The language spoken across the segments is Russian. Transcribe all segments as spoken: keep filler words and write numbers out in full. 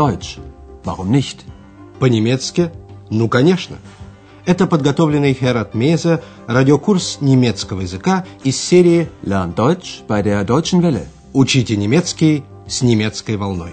Deutsch. Warum nicht? По-немецки? Ну, конечно. Это подготовленный Херат Мейзе радиокурс немецкого языка из серии Lern Deutsch bei der Deutschen Welle. «Учите немецкий с немецкой волной».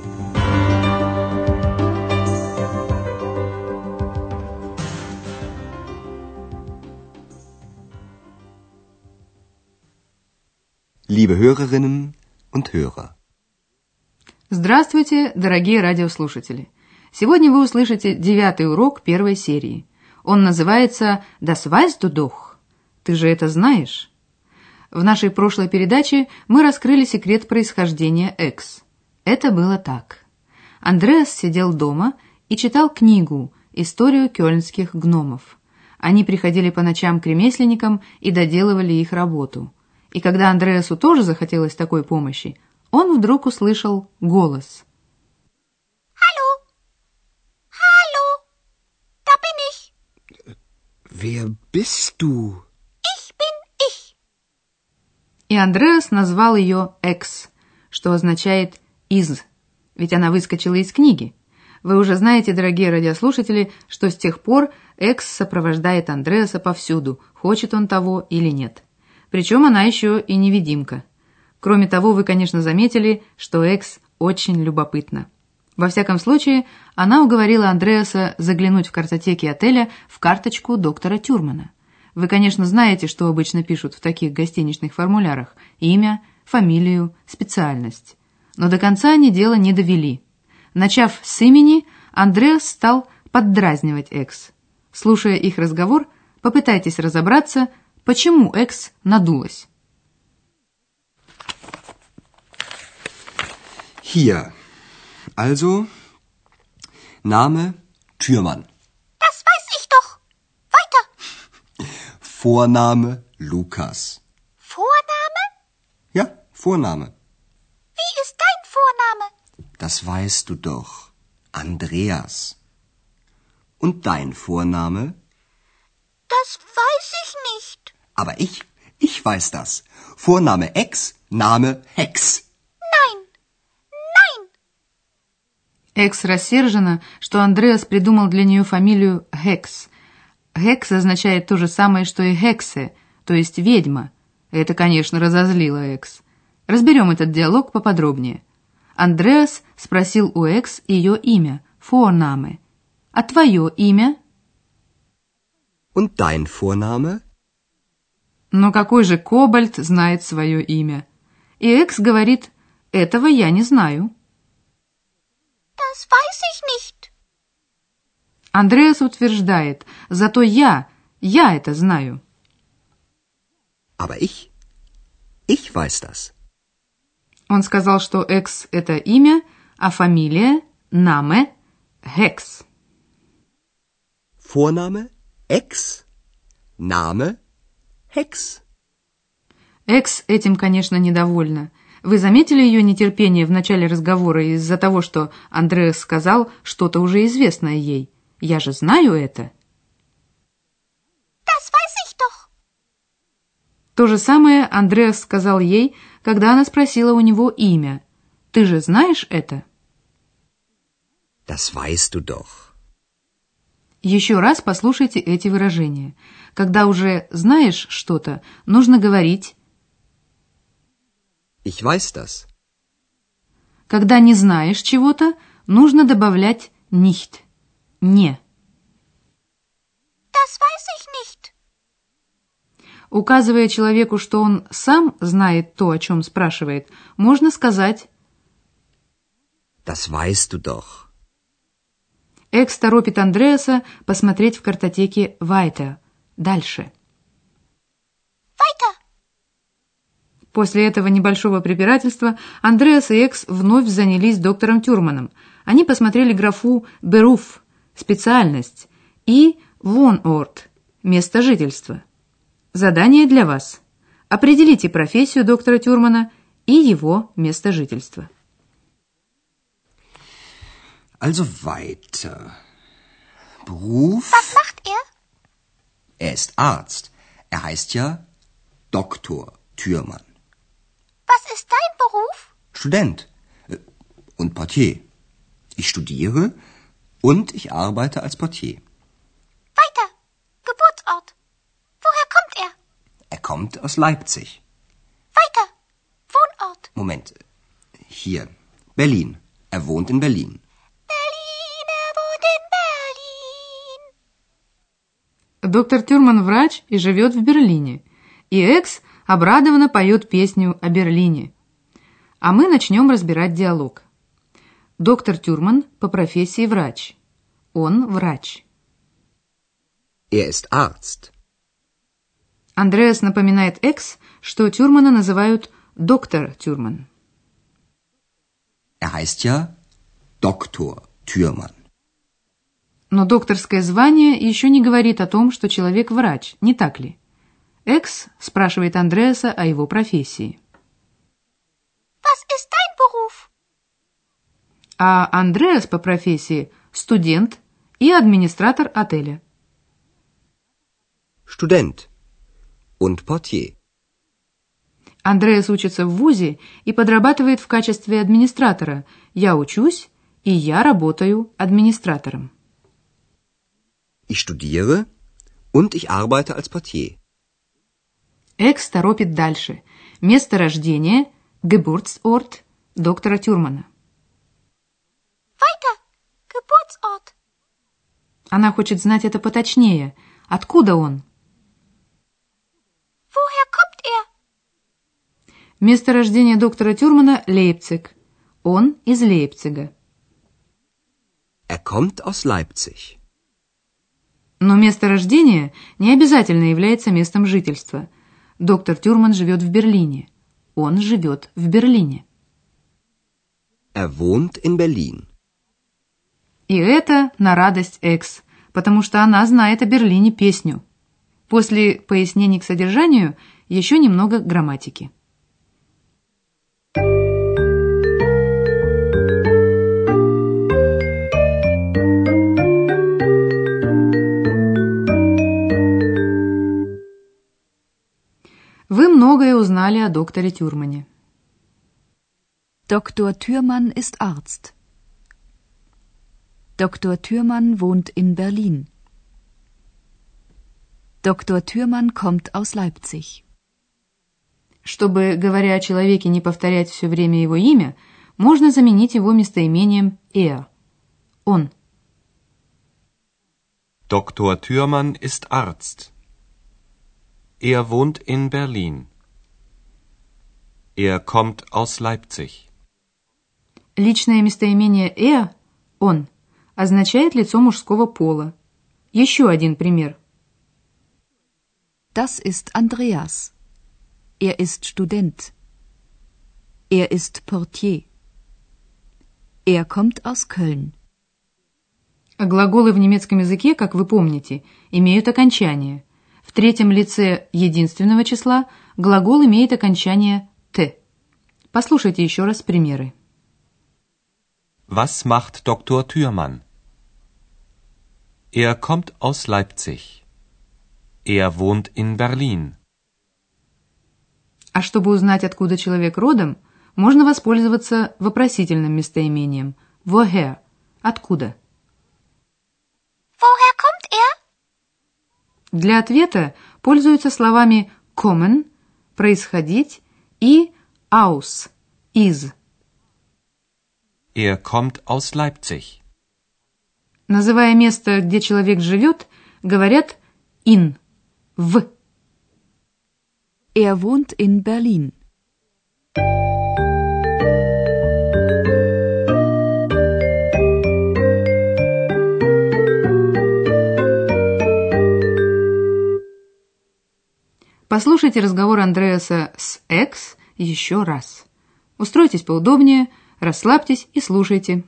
Liebe Hörerinnen und Hörer. Здравствуйте, дорогие радиослушатели! Сегодня вы услышите девятый урок первой серии. Он называется «Das weißt du doch». Ты же это знаешь? В нашей прошлой передаче мы раскрыли секрет происхождения «экс». Это было так. Андреас сидел дома и читал книгу «Историю кёльнских гномов». Они приходили по ночам к ремесленникам и доделывали их работу. И когда Андреасу тоже захотелось такой помощи, он вдруг услышал голос. «Hallo! Hallo! Da bin ich!» Wer bist du? «Ich bin ich!» И Андреас назвал ее «экс», что означает «из», ведь она выскочила из книги. Вы уже знаете, дорогие радиослушатели, что с тех пор «экс» сопровождает Андреаса повсюду, хочет он того или нет. Причем она еще и невидимка. Кроме того, вы, конечно, заметили, что «экс» очень любопытна. Во всяком случае, она уговорила Андреаса заглянуть в картотеки отеля в карточку доктора Тюрмана. Вы, конечно, знаете, что обычно пишут в таких гостиничных формулярах: имя, фамилию, специальность. Но до конца они дело не довели. Начав с имени, Андреас стал поддразнивать «экс». Слушая их разговор, попытайтесь разобраться, почему «экс» надулась. Hier. Also, Name Türmann. Das weiß ich doch. Weiter. Vorname Lukas. Vorname? Ja, Vorname. Wie ist dein Vorname? Das weißt du doch. Andreas. Und dein Vorname? Das weiß ich nicht. Aber ich, ich weiß das. Vorname Ex, Name Hex. Nein. Nein. Экс рассержена, что Андреас придумал для нее фамилию Хекс. Хекс означает то же самое, что и Хексе, то есть ведьма. Это, конечно, разозлило Экс. Разберем этот диалог поподробнее. Андреас спросил у Экс ее имя, Vorname. А твое имя? Und dein Vorname? Но какой же кобальт знает свое имя? И Экс говорит: этого я не знаю. Das weiß ich nicht. Андреас утверждает: зато я, я это знаю. Aber ich, ich weiß das. Он сказал, что Экс — это имя, а фамилия — Name Hex. Vorname Ex, Name Hex. Экс этим, конечно, недовольна. Вы заметили ее нетерпение в начале разговора из-за того, что Андреас сказал что-то уже известное ей? Я же знаю это. Das weiß ich doch. То же самое Андреас сказал ей, когда она спросила у него имя. Ты же знаешь это? Das weißt du doch. Еще раз послушайте эти выражения. Когда уже знаешь что-то, нужно говорить Ich weiß das. Когда не знаешь чего-то, нужно добавлять nicht. Не. Das weiß ich nicht. Указывая человеку, что он сам знает то, о чем спрашивает, можно сказать Das weißt du doch. Экс торопит Андреаса посмотреть в картотеке Weiter. Дальше. Weiter. После этого небольшого препирательства Андреас и Экс вновь занялись доктором Тюрманом. Они посмотрели графу Beruf, специальность, и Wohnort, место жительства. Задание для вас. Определите профессию доктора Тюрмана и его место жительства. Also weiter. Beruf? Was macht er? Er ist Arzt. Er heißt ja Doktor Thürmann. Was ist dein Beruf? Student. Und Portier. Ich studiere und ich arbeite als Portier. Weiter. Geburtsort. Woher kommt er? Er kommt aus Leipzig. Weiter. Wohnort. Moment. Hier. Berlin. Er wohnt in Berlin. Berlin, er wohnt in Berlin. Доктор Тюрман врач и живет в Берлине. И Экс обрадованно поет песню о Берлине. А мы начнем разбирать диалог. Доктор Тюрман по профессии врач. Он врач. Er ist Arzt. Андреас напоминает Экс, что Тюрмана называют доктор Тюрман. Er heißt ja Doktor Thürmann. Но докторское звание еще не говорит о том, что человек врач, не так ли? Экс спрашивает Андреаса о его профессии. Was ist dein Beruf? А Андреас по профессии студент и администратор отеля. Student und Portier. Андреас учится в вузе и подрабатывает в качестве администратора. Я учусь, и я работаю администратором. Ich studiere und ich arbeite als Portier. Экс торопит дальше. Место рождения, Geburtsort доктора Тюрмана. Weiter. Geburtsort. Она хочет знать это поточнее. Откуда он? Woher kommt er? Место рождения доктора Тюрмана – Лейпциг. Он из Лейпцига. Er kommt aus Leipzig. Но место рождения не обязательно является местом жительства. Доктор Тюрман живет в Берлине. Он живет в Берлине. Er wohnt in Berlin. И это на радость Экс, потому что она знает о Берлине песню. После пояснений к содержанию еще немного грамматики. Вы многое узнали о докторе Тюрмане. Doktor Thürmann ist Arzt. Doktor Thürmann wohnt in Berlin. Doktor Thürmann kommt aus Leipzig. Чтобы, говоря о человеке, не повторять все время его имя, можно заменить его местоимением er. Он. Doktor Thürmann ist Arzt. Er wohnt in Berlin. Er kommt aus Leipzig. Личное местоимение er, он, означает лицо мужского пола. Еще один пример. Das ist Andreas. Er ist Student. Er ist Portier. Er kommt aus Köln. Глаголы в немецком языке, как вы помните, имеют окончание. В третьем лице единственного числа глагол имеет окончание «т». Послушайте еще раз примеры. Was macht Doktor Thürmann? Er kommt aus Leipzig. Er wohnt in Berlin. А чтобы узнать, откуда человек родом, можно воспользоваться вопросительным местоимением «woher» – «откуда?». Woher kommt er? Для ответа пользуются словами kommen – «происходить» и aus – «из». Er kommt aus Leipzig. Называя место, где человек живет, говорят in – «в». Er wohnt in Berlin. Послушайте разговор Андреаса с Экс еще раз. Устройтесь поудобнее, расслабьтесь и слушайте.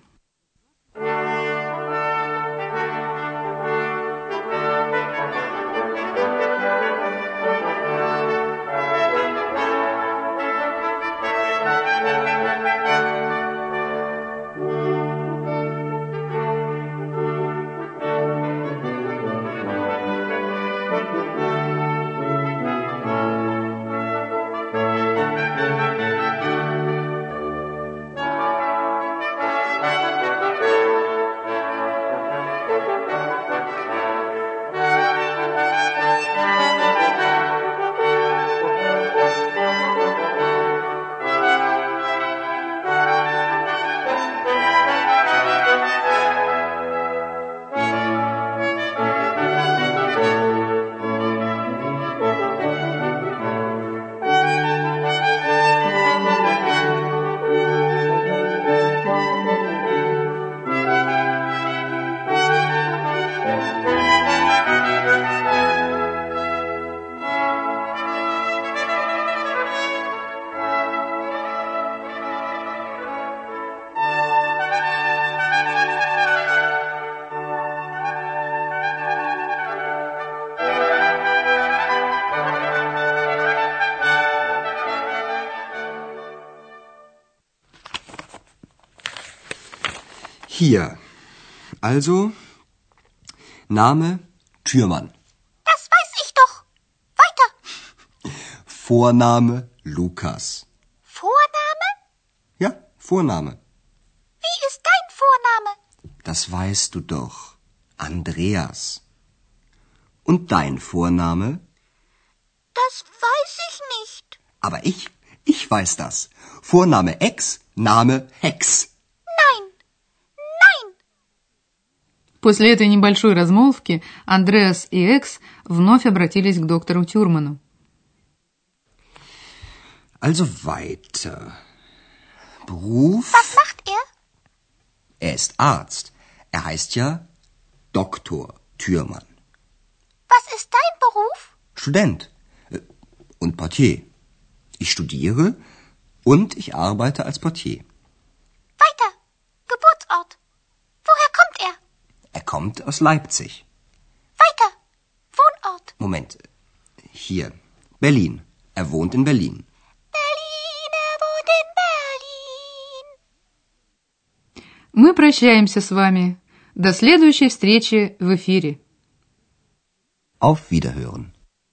Hier. Also, Name Türmann. Das weiß ich doch. Weiter. Vorname Lukas. Vorname? Ja, Vorname. Wie ist dein Vorname? Das weißt du doch. Andreas. Und dein Vorname? Das weiß ich nicht. Aber ich, ich weiß das. Vorname Ex, Name Hex. Nein. Nein. После этой небольшой размолвки Андреас и Экс вновь обратились к доктору Тюрману. Also weiter. Beruf? Was macht er? Er ist Arzt. Er heißt ja Doktor Thürmann. Was ist dein Beruf? Student äh, und Portier. Ich studiere und ich arbeite als Portier. Weiter. Geburtsort. Woher kommt er? Er kommt aus Leipzig. Weiter. Wohnort. Moment. Hier. Berlin. Er wohnt in Berlin. Berlin, er wohnt in Berlin. Мы прощаемся с вами. До следующей встречи в эфире. Auf Wiederhören.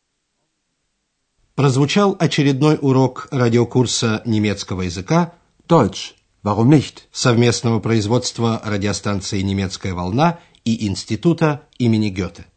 Прозвучал очередной урок радиокурса немецкого языка Deutsch. Warum nicht? совместного производства радиостанции «Немецкая волна» и Института имени Гёте.